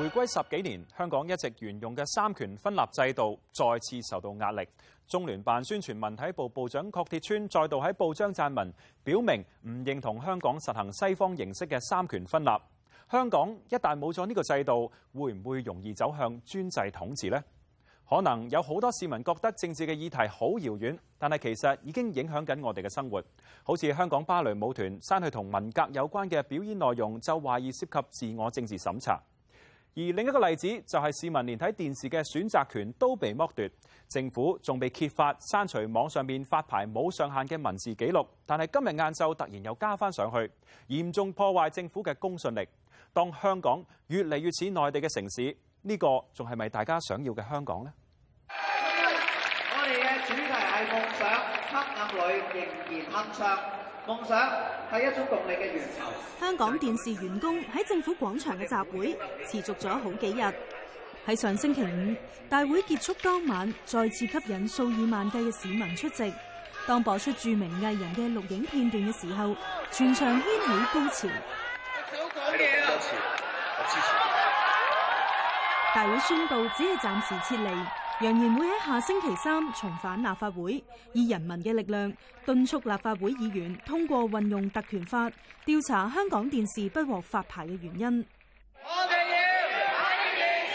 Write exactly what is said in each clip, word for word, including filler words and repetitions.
回歸十幾年，香港一直沿用嘅三權分立制度再次受到壓力。中聯辦宣傳文體部部長郝鐵川再度喺報章撰文，表明唔認同香港實行西方形式嘅三權分立。香港一旦冇咗呢個制度，會唔會容易走向專制統治呢？可能有好多市民覺得政治嘅議題好遙遠，但係其實已經影響緊我哋嘅生活。好似香港芭蕾舞團刪去同文革有關嘅表演內容，就懷疑涉及自我政治審查。而另一個例子就係市民連睇電視嘅選擇權都被剝奪，政府仲被揭發刪除網上面發牌冇上限嘅文字記錄，但係今日晏晝突然又加翻上去，嚴重破壞政府嘅公信力。當香港越嚟越似內地嘅城市，呢個仲係咪大家想要嘅香港呢？ 我哋嘅主題係夢想，黑暗裏仍然鏗鏘。夢想係一種動力嘅源頭。 香港電視員工喺政府廣場嘅集會持續咗好幾日。喺上星期五，大會結束當晚，再次吸引數以萬計嘅市民出席。當播出著名藝人嘅錄影片段嘅時候，全場掀起高潮。 講嘢啊！ 我支持。 大會宣布只係暫時撤離，揚言會喺下星期三重返立法會，以人民嘅力量敦促立法會議員通過運用特權法調查香港電視不獲發牌嘅原因。 我哋要睇電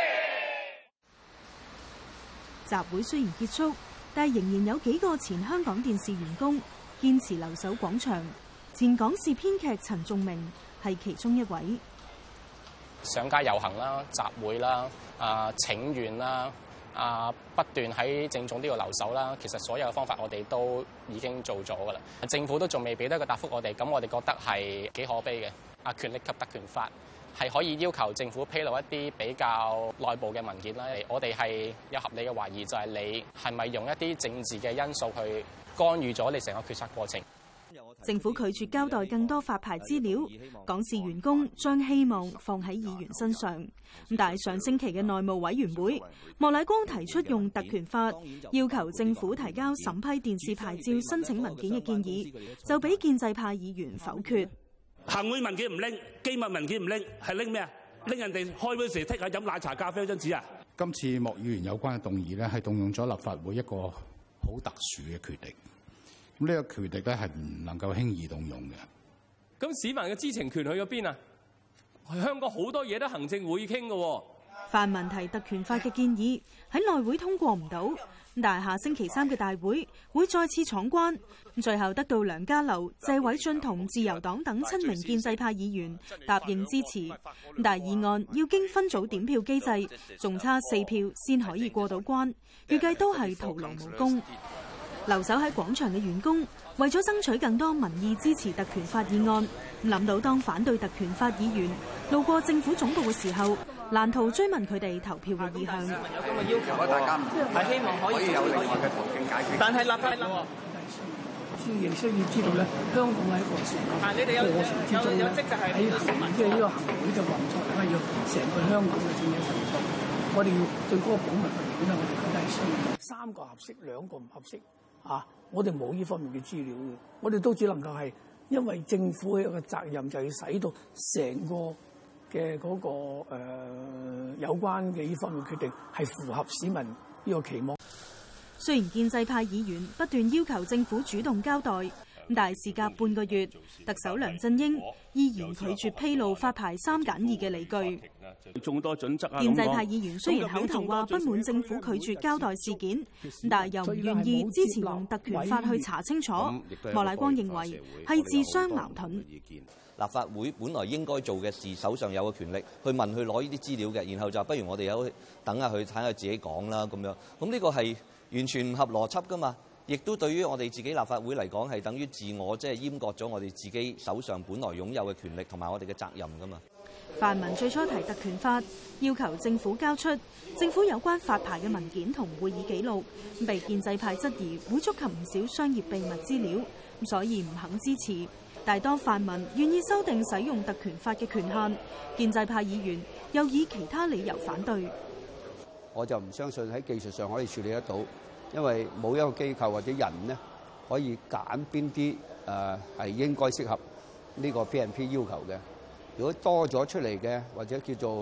視。 集會雖然結束，但仍然有幾個前香港電視員工堅持留守廣場。前港視編劇陳仲明係其中一位。 上街遊行啦、集會啦、啊請願啦、啊不斷喺政總呢度留守啦，其實所有嘅方法我哋都已經做咗㗎啦。政府都仲未俾得一個答覆我哋，咁我哋覺得係幾可悲嘅。啊，權力及特權法係可以要求政府披露一啲比較內部嘅文件啦。我哋係有合理嘅懷疑，就係你係咪用一啲政治嘅因素去干預咗你成個決策過程？ 政府拒絕交代更多發牌資料，港視員工將希望放喺議員身上。但係上星期嘅內務委員會，莫乃光提出用特權法要求政府提交審批電視牌照申請文件嘅建議，就俾建制派議員否決。 行會文件唔拎，機密文件唔拎，係拎咩啊？拎人哋開會時剔下飲奶茶咖啡嗰張紙啊！ 今次莫議員有關嘅動議咧，係動用咗立法會一個好特殊嘅權力。咁呢個權力咧係唔能夠輕易動用嘅。 咁市民嘅知情權去咗邊啊？香港好多嘢都行政會議傾嘅喎。 泛民提特權法嘅建議喺內會通過唔到，但係下星期三嘅大會會再次闖關，最後得到梁家騮、謝偉俊同自由黨等七名建制派議員答應支持，但係議案要經分組點票機制，仲差四票先可以過到關，預計都係徒勞無功。留守喺廣場嘅員工為咗爭取更多民意支持特權法議案，諗到當反對特權法議員路過政府總部嘅時候，難逃追問佢哋投票嘅意向。 有咁嘅要求，大家唔係希望可以有另外嘅途徑解決。但係立法喎， 先亦需要知道咧，香港喺個成個過程之中咧，喺行即係呢個行會嘅運作咧，要成個香港嘅政治運作，我哋要對嗰個保密嘅條件咧，我哋覺得係需要。三個合適，兩個唔合適。啊！我哋冇呢方面嘅資料嘅，我哋都只能夠係因為政府嘅一個責任，就要使到成個嘅嗰、那個、呃、有關嘅呢方面決定係符合市民呢個期望。 雖然建制派議員不斷要求政府主動交代，但係事隔半個月，特首梁振英依然拒絕披露發牌三揀二嘅理據。 眾多準則啊！ 建制派議員雖然口頭話不滿政府拒絕交代事件，但係又唔願意支持用特權法去查清楚。莫乃光認為係自相矛盾。 立法會本來應該做嘅事，手上有個權力去問佢攞呢啲資料嘅，然後就不如我哋有等下佢睇下自己講啦咁樣。咁呢個係完全唔合邏輯㗎嘛？亦都對於我哋自己立法會嚟講，係等於自我即係閹割咗我哋自己手上本來擁有嘅權力同埋我哋嘅責任㗎嘛。 泛民最初提特權法，要求政府交出政府有關發牌嘅文件同會議記錄，被建制派質疑會觸及唔少商業秘密資料，所以唔肯支持。但係當泛民願意修訂使用特權法嘅權限，建制派議員又以其他理由反對。 我就唔相信喺技術上可以處理得到，因為冇一個機構或者人呢可以揀邊啲誒係應該適合呢個 P and P 要求嘅。如果多咗出嚟嘅，或者叫做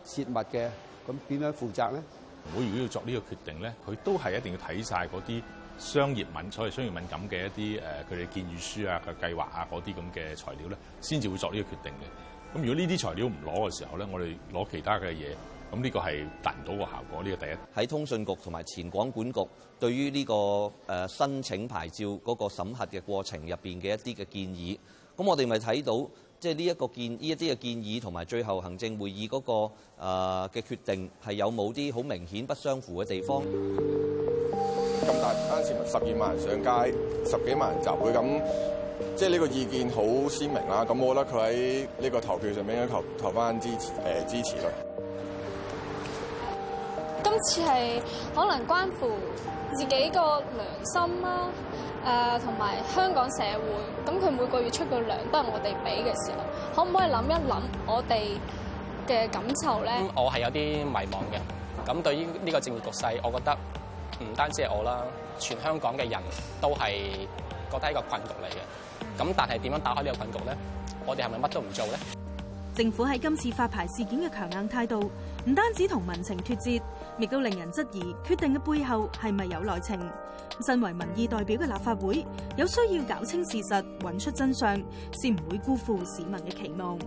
切勿嘅，咁點樣負責咧？ 會如果要作呢個決定咧，佢都係一定要睇晒嗰啲商業敏所謂商業敏感嘅一啲誒佢哋建議書啊、嘅計劃啊嗰啲咁嘅材料咧，先至會作呢個決定嘅。咁如果呢啲材料唔攞嘅時候咧，我哋攞其他嘅嘢，咁呢個係達唔到個效果。呢個第一。 喺通訊局同埋前廣管局對於呢個誒申請牌照嗰個審核嘅過程入邊嘅一啲嘅建議，咁我哋咪睇到。即係呢一個建呢一啲嘅建議同埋最後行政會議嗰、那個嘅、呃、決定係有冇啲好明顯不相符嘅地方？ 咁大班市民十二萬人上街，十幾萬人集會，咁即係呢個意見好鮮明啦。咁我覺得佢喺呢個投票上面應該投投翻支持誒、呃、支持咯。 今次係可能關乎自己個良心啦。誒同埋香港社會，咁佢每個月出嘅糧都係我哋俾嘅時候，可唔可以諗一諗我哋嘅感受咧？ 嗯、我係有啲迷茫嘅。咁對於呢個政治局勢，我覺得唔單止係我啦，全香港嘅人都係覺得係一個困局嚟嘅。咁但係點樣打開呢個困局咧？我哋係咪乜都唔做咧？ 政府喺今次發牌事件嘅強硬態度，唔單止同民情脫節，亦都令人質疑決定嘅背後係咪有內情。身為民意代表嘅立法會，有需要搞清事實，揾出真相，先唔會辜負市民嘅期望。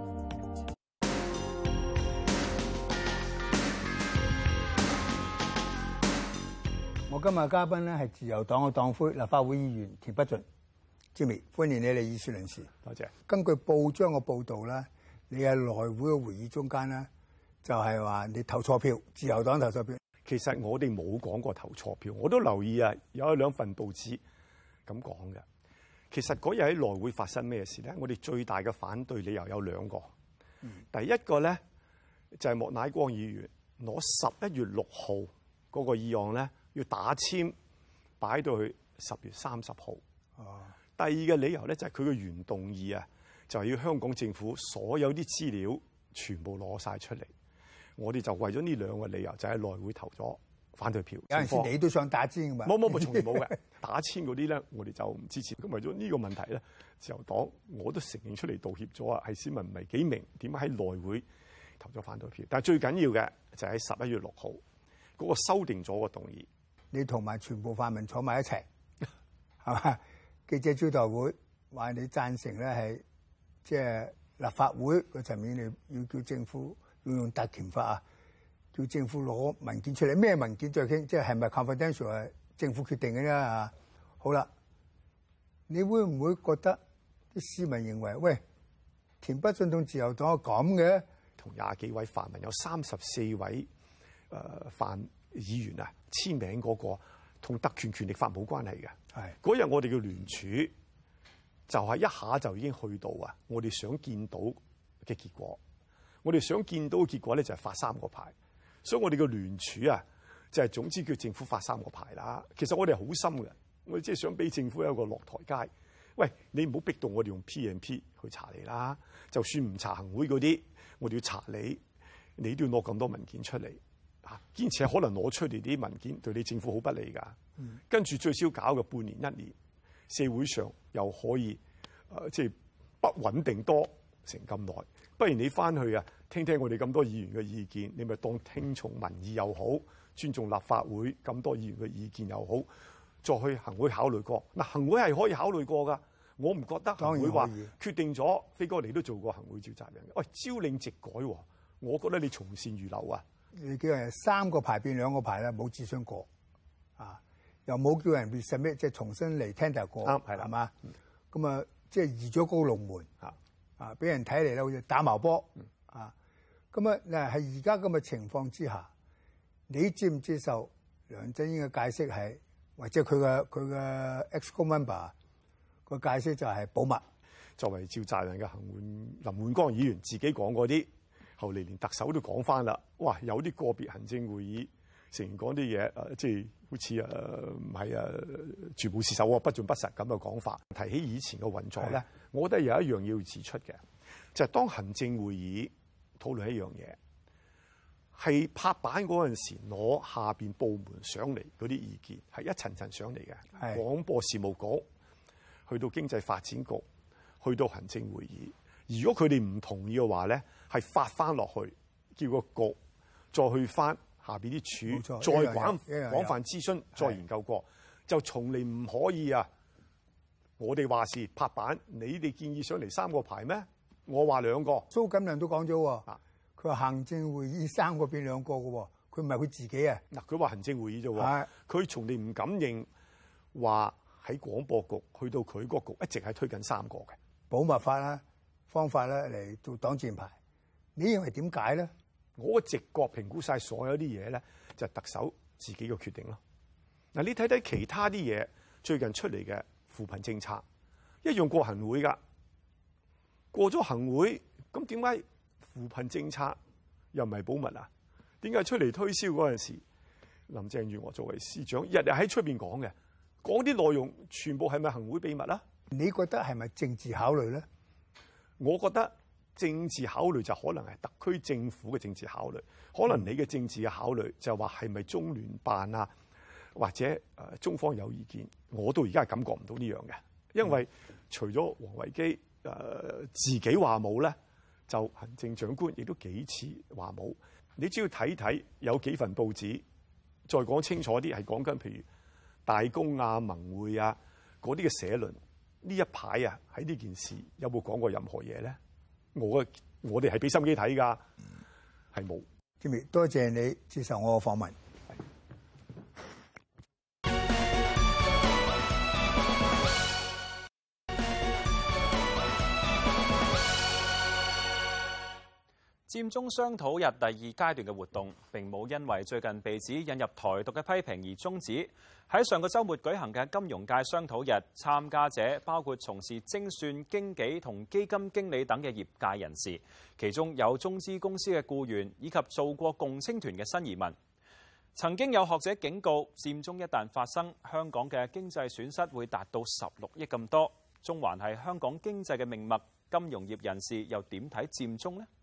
我今日嘅嘉賓咧係自由黨嘅黨魁、立法會議員田北俊 ，Jimmy， 歡迎你嚟議事論事。 多謝。 根據報章嘅報導咧，你喺內會嘅會議中間咧，就係話你投錯票，自由黨投錯票。 其實我哋冇講過投錯票，我都留意啊，有兩份報紙咁講嘅。其實嗰日喺內會發生咩事咧？我哋最大嘅反對理由有兩個。嗯、第一個咧就係、是、莫乃光議員攞十一月六號嗰個議案咧，要打簽擺到去十月三十號。哦。第二個理由咧就係佢嘅原動議啊，就係、是、要香港政府所有啲資料全部攞晒出嚟。我哋就為咗呢兩個理由，就喺內會投咗反對票。 有陣時你都想打簽㗎嘛？ 冇冇冇，從來冇嘅。打簽嗰啲咧，我哋就唔支持。咁為咗呢個問題咧，自由黨我都承認出嚟道歉咗啊，係市民唔係幾明點解喺內會投咗反對票。但係最緊要嘅就喺十一月六號嗰個修訂咗個動議， 你同埋全部泛民坐埋一齊，係嘛？記者招待會話你贊成咧係即係立法會個層面，你要叫政府。要用特權法啊！叫政府攞文件出嚟，咩文件再傾？即係係咪 confidential 係政府決定嘅啫啊？好啦，你會唔會覺得啲市民認為，喂，田北俊同自由黨係咁嘅？ 同廿幾位泛民有三十四位誒泛議員啊簽名嗰個，同特權權力法冇關係嘅。係嗰日我哋嘅聯署就係一下就已經去到啊！我哋想見到嘅結果。我哋想見到嘅結果咧，就係發三個牌，所以我哋嘅聯署啊，就係總之叫政府發三個牌啦。其實我哋係好心嘅，我哋即係想俾政府有個落台階。喂，你唔好逼到我哋用 P and P 去查你啦。就算唔查行會嗰啲，我哋要查你，你都要攞咁多文件出嚟啊！堅持係可能攞出嚟啲文件對你政府好不利㗎。嗯、跟住最少搞嘅半年一年，社會上又可以誒，即係不穩定多成咁耐。不如你翻去啊，聽聽我哋咁多議員嘅意見，你咪當聽從民意又好，尊重立法會咁多議員嘅意見又好，再去行會考慮過。嗱，行會係可以考慮過㗎，我唔覺得行會話決定咗。飛哥你都做過行會召集人嘅，喂，朝令夕改，我覺得你從善如流啊！ 你叫人三個牌變兩個牌咧，冇諮詢過啊，又冇叫人 resubmit 即係重新嚟 tender 過，啱係啦，係嘛？咁啊，即係移咗高龍門嚇。啊！俾人睇嚟咧，好似打矛波啊！咁啊，嗱係而家咁嘅情況之下，你接唔接受梁振英嘅解釋係，或者佢嘅佢嘅 ex-co member 個解釋就係保密？ 作為召集人嘅行會林煥光議員自己講過啲，後嚟連特首都講翻啦。哇！有啲個別行政會議成員講啲嘢，誒，即係好似誒唔係誒全部是手不盡不實咁嘅講法。提起以前嘅運作咧，我覺得有一樣要指出嘅，就係、是、當行政會議討論一樣嘢，係拍板嗰陣時攞下邊部門上嚟嗰啲意見，係一層層上嚟嘅。廣播事務局去到經濟發展局，去到行政會議，如果佢哋唔同意嘅話咧，係發翻落去，叫個局再去翻下邊啲處，再廣廣泛諮詢，再研究過，就從嚟唔可以啊！我哋話事拍板，你哋建議上嚟三個牌咩？我話兩個。 蘇錦樑都講咗喎，佢話行政會議三個變兩個嘅喎，佢唔係佢自己啊。 嗱，佢話行政會議啫喎，佢從嚟唔敢認話喺廣播局去到佢個局一直係推緊三個嘅保密法啦、方法咧嚟做擋箭牌。你認為點解咧？ 我直覺評估晒所有啲嘢咧，就係特首自己嘅決定咯。嗱，你睇睇其他啲嘢最近出嚟嘅扶貧政策，一樣過行會㗎。過咗行會，咁點解扶貧政策又唔係保密啊？點解出嚟推銷嗰陣時，林鄭月娥作為司長，日日喺出邊講嘅，講啲內容全部係咪行會秘密啊？ 你覺得係咪政治考慮咧？ 我覺得政治考慮就可能係特區政府嘅政治考慮，可能你嘅政治嘅考慮就話係咪中聯辦啊，或者誒中方有意見，我到而家係感覺唔到呢樣嘅，因為除咗王維基。誒、呃、自己話冇咧，就行政長官亦都幾次話冇。你只要睇睇有幾份報紙，再講清楚啲，係講緊譬如大公啊、文匯啊嗰啲嘅社論，呢一排啊喺呢件事有冇講過任何嘢咧？我我哋係俾心機睇㗎，係冇。 Jimmy，多謝你接受我嘅訪問。 佔中商討日第二階段嘅活動並冇因為最近被指引入台獨嘅批評而終止。喺上個週末舉行嘅金融界商討日，參加者包括從事精算、經紀同基金經理等嘅業界人士，其中有中資公司嘅僱員以及做過共青團嘅新移民。曾經有學者警告，佔中一旦發生，香港嘅經濟損失會達到十六億咁多。中環係香港經濟嘅命脈，金融業人士又點睇佔中呢？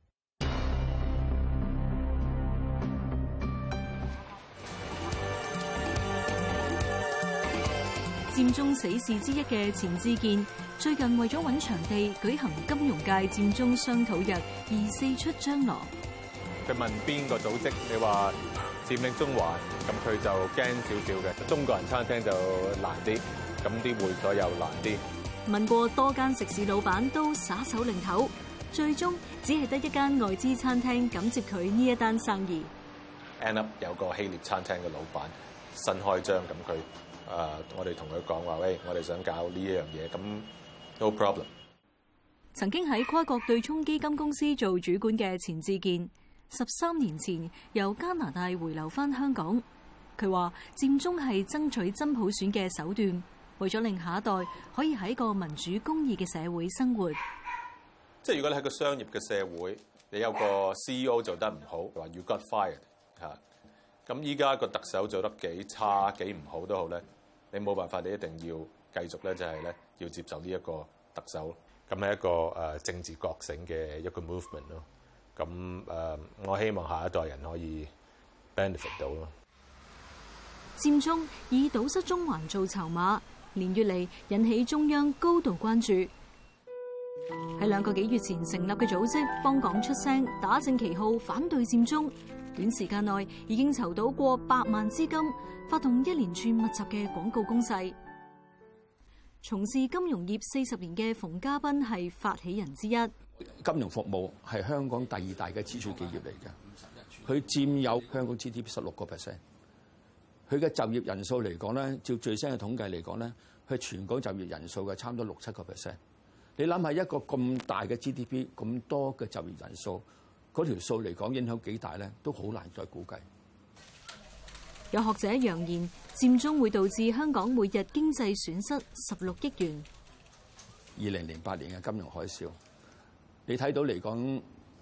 佔中死士之一嘅錢志健，最近為咗揾場地舉行金融界佔中商討日，而四出張羅。 佢問邊個組織，你話佔領中環，咁佢就驚少少嘅。中國人餐廳就難啲，咁啲會所又難啲。 問過多間食肆老闆都耍手擰頭，最終只係得一間外資餐廳敢接佢呢一單生意。 End up 有個希臘餐廳嘅老闆新開張，咁佢。誒、uh，我哋同佢講話，喂，我哋想搞呢一樣嘢，咁 no problem。 曾經喺跨國對沖基金公司做主管嘅錢志健，十三年前由加拿大回流返香港。佢話佔中係爭取真普選嘅手段，為咗令下一代可以喺個民主公義嘅社會生活。 即係如果你喺個商業嘅社會，你有個 C E O 做得唔好，話 you got fired 嚇。咁依家個特首做得幾差幾唔好都好咧。你冇辦法，你一定要繼續咧，就係咧要接受呢一個特首，咁係一個誒政治覺醒嘅一個 movement 咯。咁誒，我希望下一代人可以 benefit 到咯。 佔中以堵塞中環做籌碼，連月嚟引起中央高度關注。喺兩個幾月前成立嘅組織幫港出聲，打正旗號反對佔中。短時間內已經籌到過百萬資金，發動一連串密集嘅廣告攻勢。從事金融業四十年嘅馮家斌係發起人之一。 金融服務係香港第二大嘅支柱企業嚟嘅，佢佔有香港 G D P 十六個 percent。佢嘅就業人數嚟講咧，照最新嘅統計嚟講咧，佢全港就業人數嘅差唔多六七個 percent。你諗下一個咁大嘅 G D P， 咁多嘅就業人數。嗰條數嚟講影響幾大咧，都好難再估計。 有學者揚言，佔中會導致香港每日經濟損失十六億元。 二零零八年嘅金融海嘯，你睇到嚟講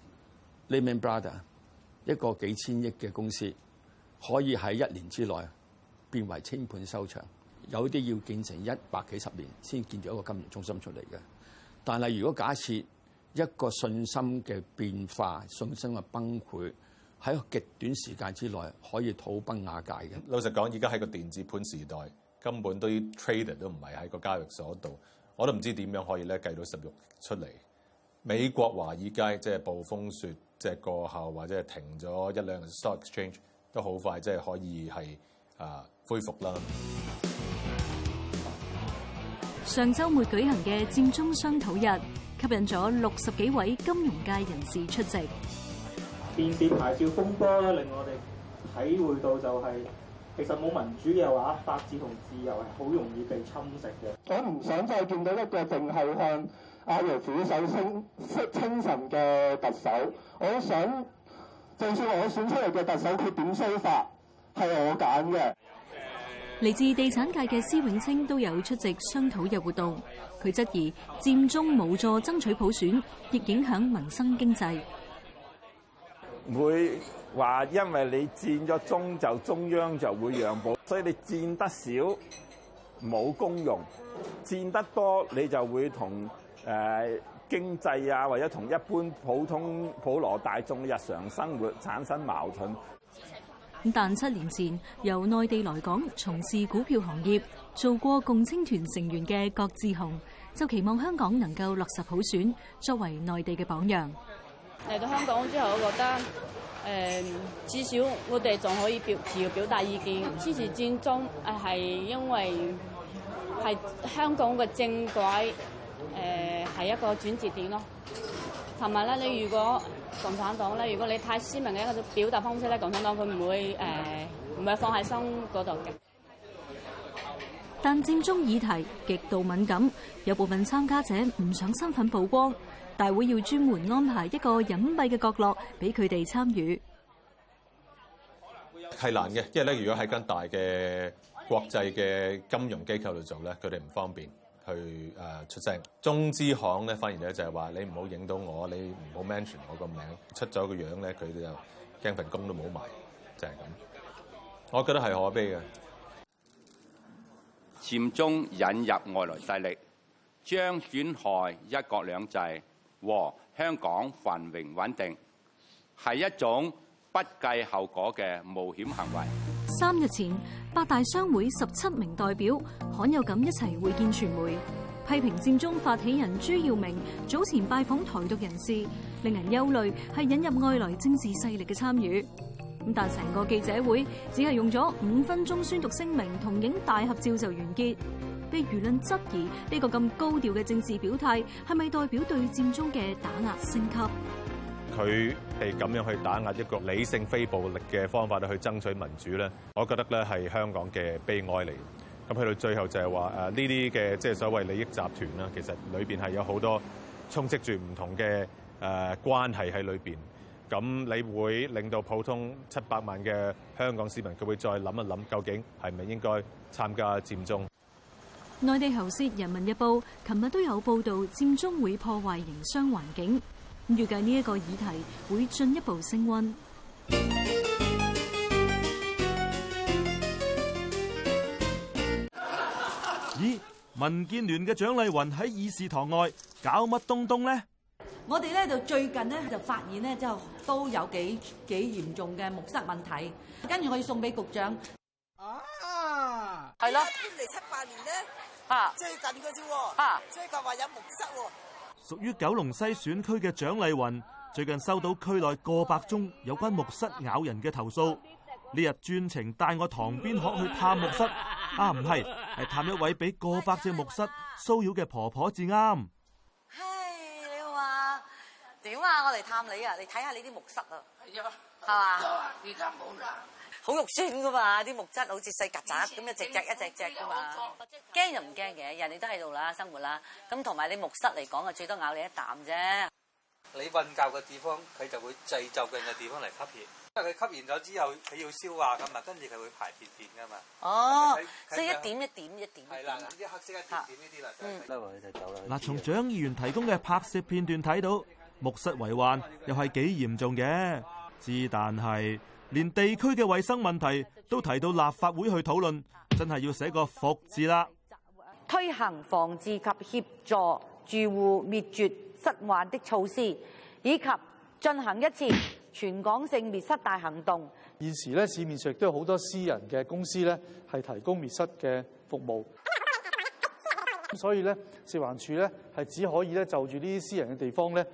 Lehman Brothers 一個幾千億嘅公司，可以喺一年之內變為清盤收場，有啲要建成一百幾十年先建到一個金融中心出嚟嘅。但係如果假設一個信心嘅變化、信心嘅崩潰，喺極短時間之內可以土崩瓦解嘅。 老實講，而家喺個電子盤時代，根本都啲 trader 都唔係喺個交易所度，我都唔知點樣可以咧計到十六出嚟。美國華爾街即係暴風雪即係過後或者係停咗一兩日 stock exchange，都好快即係可以係啊恢復啦。 上週末舉行嘅佔中商討日，吸引咗六十幾位金融界人士出席。 電視牌照風波咧，令我哋體會到就係、是，其實冇民主嘅話，法治同自由係好容易被侵蝕嘅。 我唔想再見到一個淨係向阿爺俯首稱稱臣嘅特首。我想，就算我選出嚟嘅特首，佢點衰法係我揀嘅。 嚟自地產界嘅施永青都有出席商討日活動。佢質疑佔中無助爭取普選，亦影響民生經濟。 會話因為你佔咗中就中央就會讓步，所以你佔得少冇功用，佔得多你就會同誒、呃、經濟啊或者同一般普通普羅大眾日常生活產生矛盾。 但七年前由內地來港從事股票行業，做過共青團成員嘅郭志雄，就期望香港能夠落實普選，作為內地嘅榜樣。 嚟到香港之後，我覺得誒、呃、至少我哋仲可以表自由表達意見，支持佔中誒係因為係香港嘅政改誒係、呃、一個轉折點咯。同埋咧，你如果共產黨咧，如果你太鮮明嘅一個表達方式咧，共產黨佢唔會誒唔係放喺心嗰度嘅。 但佔中議題極度敏感，有部分參加者唔想身份曝光，大會要專門安排一個隱蔽嘅角落俾佢哋參與。 係難嘅，因為咧，如果喺間大嘅國際嘅金融機構度做咧，佢哋唔方便去誒出聲。中資行咧，反而咧就係話你唔好影到我，你唔好 mention 我個名，出咗個樣咧，佢哋就驚份工都冇埋，就係咁。我覺得係可悲嘅。 佔中引入外來勢力，將損害一國兩制和香港繁榮穩定，係一種不計後果嘅冒險行為。 三日前，八大商會十七名代表罕有咁一齊會見傳媒，批評佔中發起人朱耀明早前拜訪台獨人士，令人憂慮係引入外來政治勢力嘅參與。咁但成個記者會只係用咗五分鐘宣讀聲明同影大合照就完結，被輿論質疑呢個咁高調嘅政治表態係咪代表對佔中嘅打壓升級？ 佢係咁樣去打壓一個理性非暴力嘅方法去爭取民主咧，我覺得咧係香港嘅悲哀嚟。咁去到最後就係話誒呢啲嘅即係所謂利益集團啦，其實裏邊係有好多充斥住唔同嘅誒關係喺裏邊。咁你會令到普通七百萬嘅香港市民，佢會再諗一諗，究竟係咪應該參加佔中？ 內地喉舌《人民日報》琴日都有報導，佔中會破壞營商環境。預計呢一個議題會進一步升溫。 咦？民建聯嘅蔣麗芸喺議事堂外搞乜東東呢？ 我哋咧就最近咧就發現咧，就都有幾幾嚴重嘅木蝨問題，跟住我要送俾局長。 啊， 係啦， 搬嚟七八年咧， 啊， 最近嘅啫喎， 啊， 最近話有木蝨喎。 屬於九龍西選區嘅蔣麗芸最近收到區內過百宗有關木蝨咬人嘅投訴，呢日專程帶我塘邊鶴去探木蝨，啊唔係，係探一位俾過百隻木蝨騷擾嘅婆婆至啱。 點啊！我嚟探你啊！你睇下你啲木蝨啊，係啊，係嘛？依家冇啦，好肉酸噶嘛！啲木蝨好似細曱甴咁，一隻隻一隻隻噶嘛。驚就唔驚嘅，人哋都喺度啦，生活啦。咁同埋你木蝨嚟講啊，最多咬你一啖啫。 你瞓覺嘅地方，佢就會製就近嘅地方嚟吸血。因為佢吸完咗之後，佢要消化噶嘛，跟住佢會排便便噶嘛。 哦，即係一點一點一點。 係啦，啲黑色一點點呢啲啦。嗯。 嗱，從蔣議員提供嘅拍攝片段睇到，木蝨為患又係幾嚴重嘅，之但係連地區嘅衛生問題都提到立法會去討論，真係要寫個服字啦。 推行防治及協助住戶滅絕蝨患的措施，以及進行一次全港性滅蝨大行動。 現時咧，市面上亦都有好多私人嘅公司咧，係提供滅蝨嘅服務。所以咧，食環署咧係只可以咧就住呢啲私人嘅地方咧，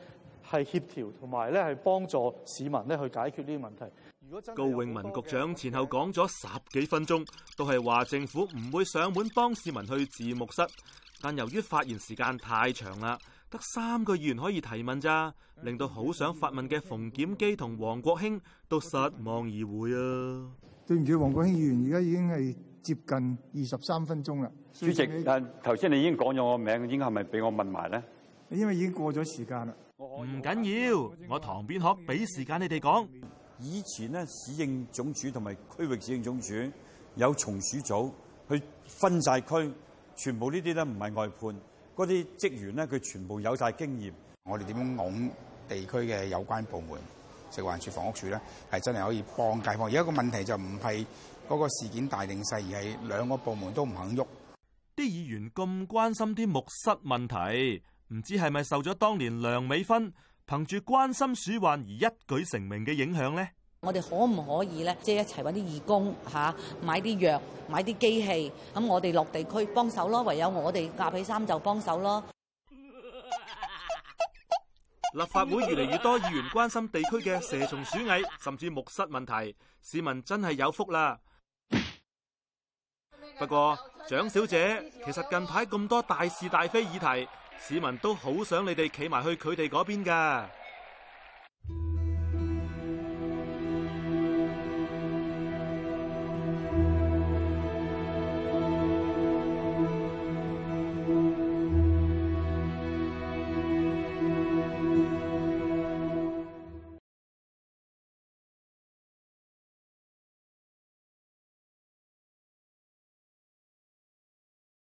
係協調同埋咧係幫助市民咧去解決呢啲問題。 高永文局長前後講咗十幾分鐘，都係話政府唔會上門幫市民去字幕室，但由於發言時間太長啦，得三個議員可以提問咋，令到好想發問嘅馮檢基同黃國興都失望而回啊！ 對唔住，黃國興議員，而家已經係接近二十三分鐘啦。 主席，但頭先你已經講咗我名，應該係咪俾我問埋咧？ 因為已經過咗時間啦。 唔緊要，我唐邊學俾時間你哋講。 以前咧，市政總署同埋區域市政總署有從屬組去分晒區，全部呢啲咧唔係外判，嗰啲職員咧佢全部有晒經驗。 我哋點樣往地區嘅有關部門，食環署、房屋署咧，係真係可以幫街坊。而家個問題就唔係嗰個事件大定細，而係兩個部門都唔肯喐。 啲議員咁關心啲木蝨問題，唔知係咪受咗當年梁美芬憑住關心鼠患而一舉成名嘅影響呢？ 我哋可唔可以咧，即係一齊揾啲義工嚇，買啲藥、買啲機器，咁我哋落地區幫手咯。唯有我哋夾起衫就幫手咯。 立法會越嚟越多議員關心地區嘅蛇蟲鼠蟻，甚至木蝨問題，市民真係有福啦。不過，蔣小姐，其實近排咁多大是大非議題，市民都好想你哋企埋去佢哋嗰邊㗎。